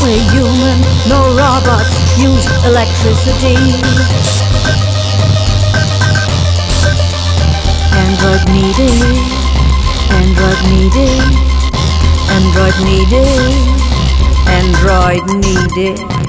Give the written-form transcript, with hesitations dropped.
We're human, no robots, use electricity. Android needed, Android needed, Android needed, Android needed.